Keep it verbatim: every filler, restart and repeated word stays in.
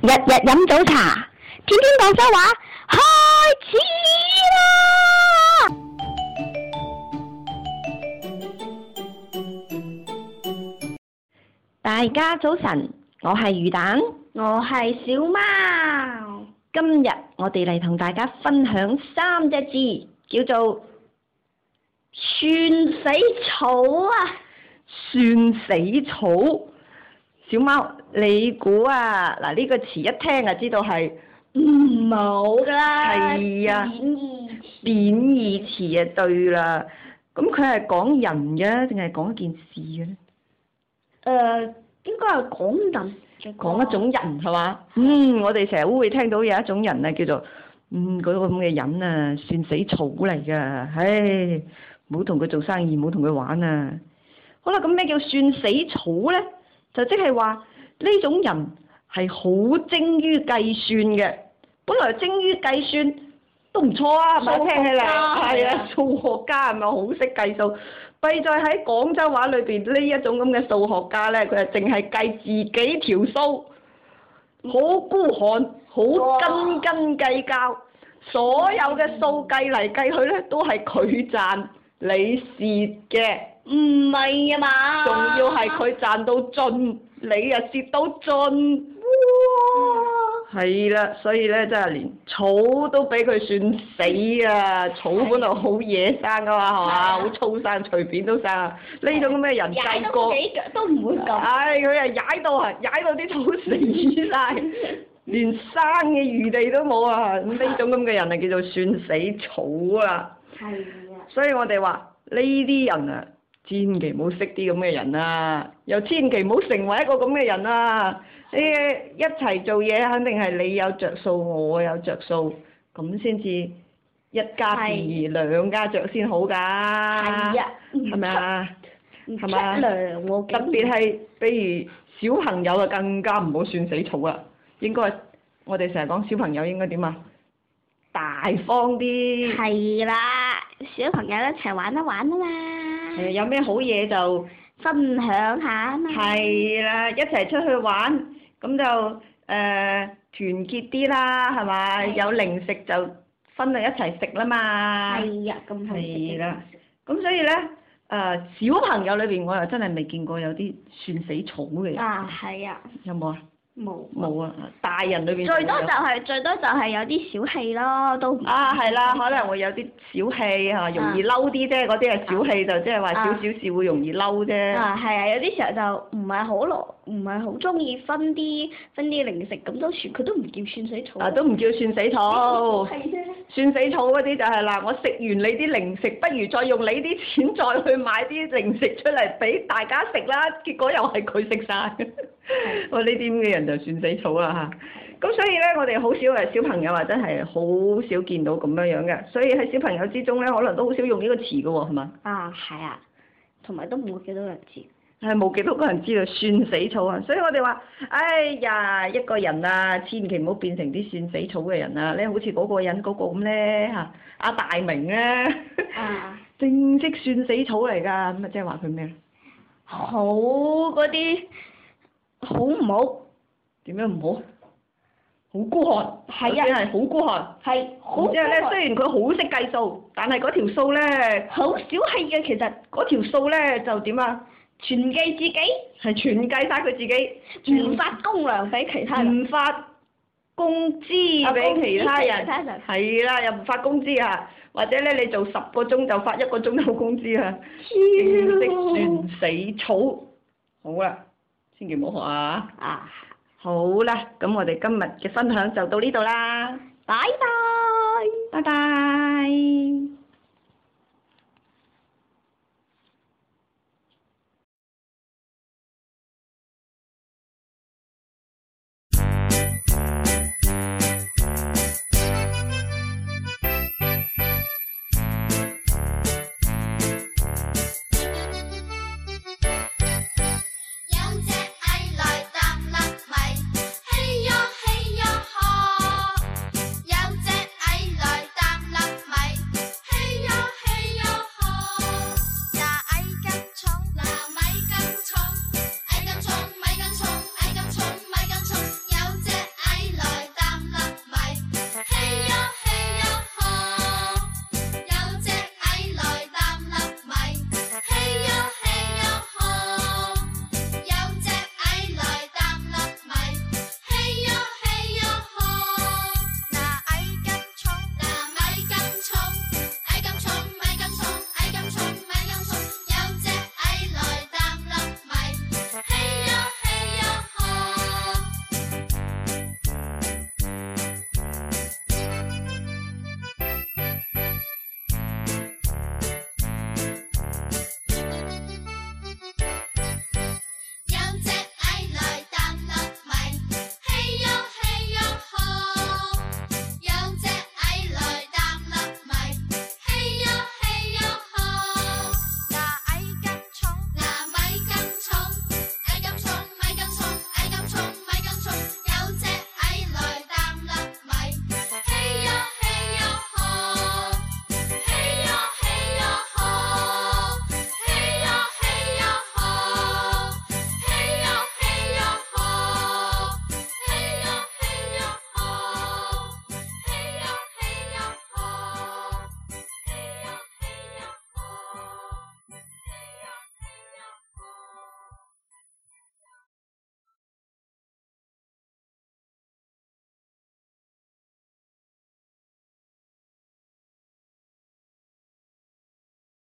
日日飲早茶，天天廣州話，開始啦！大家早晨，我係魚蛋， 我係小貓。 今日我哋嚟同大家分享三隻字，叫做算死草啊！ 算死草。小貓，你估啊？嗱，呢個詞一聽就知道係唔好㗎啦。 係啊， 貶義詞。 貶義詞啊，對啦。咁佢係講人嘅，定係講一件事嘅咧？ 誒，應該係講人。 講一種人係嘛？嗯，我哋成日都會聽到有一種人啊，叫做嗯嗰個咁嘅人啊，算死草嚟㗎。唉，唔好同佢做生意，唔好同佢玩啊！好啦，咁咩叫算死草咧？就即係話呢種人係好精於計算嘅，本來精於計算都唔錯啊，係咪？聽起嚟係啊，數學家係咪好識計數？弊在喺廣州話裏邊呢一種咁嘅數學家咧，佢係淨係計自己條數，好孤寒，好斤斤計較，所有嘅數計嚟計去咧都係佢賺，你蝕嘅。 唔係啊嘛， 仲要係佢賺到盡，你又蝕到盡，哇！係啦，所以咧真係連草都俾佢算死啊！草本來好野生噶嘛，係嘛？好粗生，隨便都生啊！呢種咁嘅人計過， 幾腳都唔會咁。 唉，佢係踩到啊，踩到啲草死晒，連生嘅餘地都冇啊！咁呢種咁嘅人啊，叫做算死草啊！ 係啊。所以我哋話呢啲人啊〜千祈唔好識啲咁嘅人啊，又千祈唔好成為一個咁嘅人啊！你一齊做嘢，肯定係你有着數，我有着數，咁先至一家便宜兩家着先好㗎。係啊，係咪啊？係咪啊？特別係比如小朋友啊，更加唔好算死草啦。應該我哋成日講小朋友應該點啊？大方啲。係啦，小朋友一齊玩一玩啊嘛。誒，有咩好嘢就分享下啊嘛。 係啦，一齊出去玩，咁就誒、呃、團結啲啦，係咪？有零食就分嚟一齊食啦嘛。係啊，咁好食。係啦，咁所以咧，誒、呃、小朋友裏邊我又真係未見過有啲算死草嘅人。 啊，係啊。 有冇啊？ 冇冇啊！大人裏邊最多就係、是、最多就係有啲小氣咯，都啊係啦，可能會有啲小氣嚇，容易嬲啲啫。嗰啲係小氣，就即係話少少事會容易嬲啫。啊係啊，有啲時候就唔係好攞，唔係好中意分啲分啲零食，咁都算佢都唔叫算死草。啊，都唔叫算死草。係啫。算死草嗰啲就係、是、啦，我食完你啲零食，不如再用你啲錢再去買啲零食出嚟俾大家食啦。結果又係佢食晒。我呢啲咁嘅人就算死草啦嚇，咁所以咧，我哋好少誒小朋友啊，真係好少見到咁樣樣嘅，所以喺小朋友之中咧，可能都好少用呢個詞嘅喎，係嘛？啊，係啊，同埋都冇幾多人知，係冇幾多個人知道算死草啊，所以我哋話，哎呀，一個人啊，千祈唔好變成啲算死草嘅人啊，咧好似嗰個人嗰個咁咧嚇，阿大明咧，啊，正式算死草嚟㗎，咁啊即係話佢咩咧？好嗰啲。好唔好？點樣唔好？好孤寒，係啊，係好孤寒，係好。即係咧，雖然佢好識計數，但係嗰條數咧，好小氣嘅。其實嗰條數咧就點啊？全計自己，係全計晒佢自己，唔發公糧俾其他人，唔發工資俾其他人，係啦，又唔發工資啊！或者咧，你做十個鐘就發一個鐘頭工資啊！正式算死草，好啦。千祈唔好學啊！啊，好啦，咁我哋今日嘅分享就到呢度啦，拜拜，拜拜。